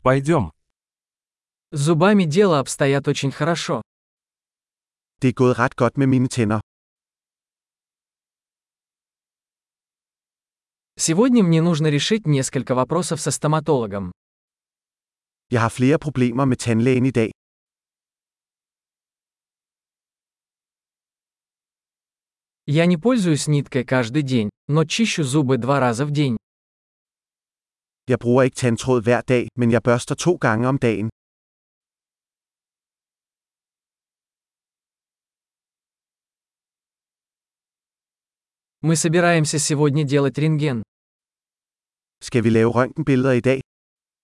Пойдем. С зубами дело обстоят очень хорошо. Det er gået ret godt med mine tænder. Сегодня мне нужно решить несколько вопросов со стоматологом. Jeg har flere problemer med tandlægen i dag. Я не пользуюсь ниткой каждый день, но чищу зубы 2 раза в день. Jeg bruger ikke tandtråd hver dag, men jeg børster 2 gange om dagen. Мы собираемся сегодня делать рентген. Skal vi lave røntgenbilleder i dag?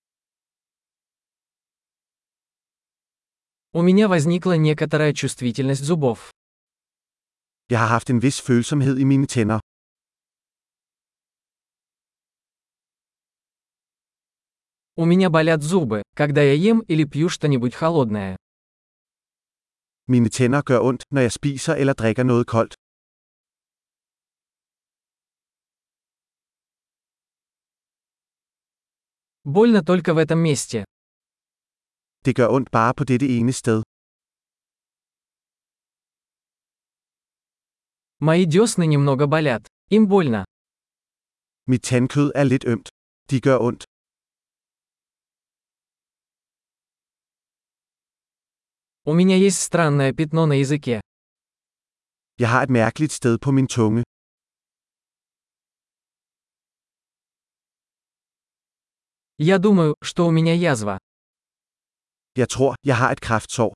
У меня возникла некоторая чувствительность зубов. Jeg har haft en vis følsomhed i mine tænder. У меня болят зубы, когда я ем или пью что-нибудь холодное. Mine tænder gør ondt, når jeg spiser eller drikker noget koldt. Больно только в этом месте. Det gør ondt bare på dette ene sted. Мои десны немного болят. Им больно. Mit tandkød er lidt ømt. De gør ondt. У меня есть странное пятно на языке. Jeg har et mærkeligt sted på min tunge. Я думаю, что у меня язва. Jeg tror, jeg har et kræftsår.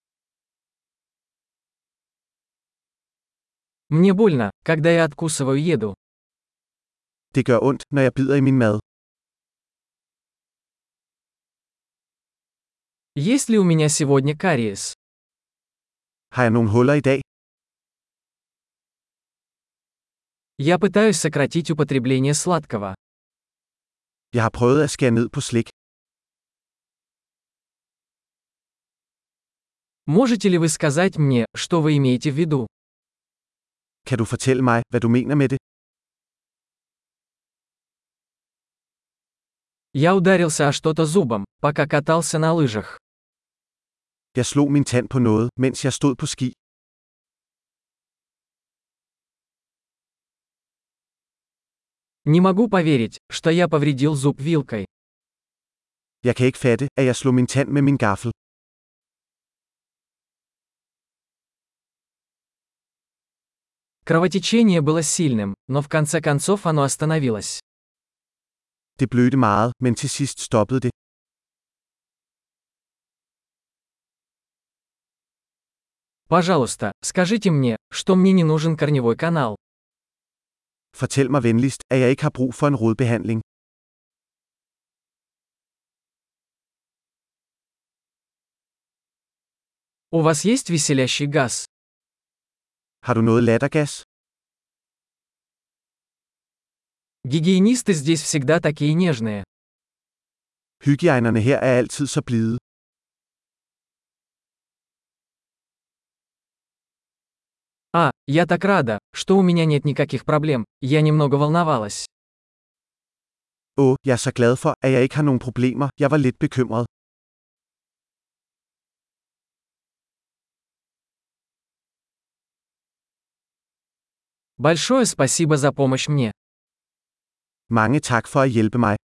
Мне больно, когда я откусываю еду. Det gør ondt, når jeg bider i min mad. Есть ли у меня сегодня кариес? Har jeg nogle huller i dag? Я пытаюсь сократить употребление сладкого. Jeg har prøvet at skære ned på slik. Можете ли вы сказать мне, что вы имеете в виду? Kan du fortælle mig, hvad du mener med det? Я ударился о что-то зубом, пока катался на лыжах. Jeg slog min tand på noget, mens jeg stod på ski. Не могу поверить, что я повредил зуб вилкой. Jeg kan ikke fatte, at jeg slog min tand med min gaffel. Кровотечение было сильным, но в конце концов оно остановилось. Det blødte meget, men til sidst stoppede det. Пожалуйста, скажите мне, что мне не нужен корневой канал. Fortæl mig venligst, at jeg ikke har brug for en rodbehandling. У вас есть веселящий газ? Har du noget lattergas? Гигиенисты здесь всегда такие нежные. Hygiejnerne her er altid så blide. Я так рада, что у меня нет никаких проблем, я немного волновалась. Jeg er så glad for, at jeg ikke har nogen problemer. Jeg var lidt bekymret. Большое спасибо за помощь мне. Mange tak for at hjælpe mig.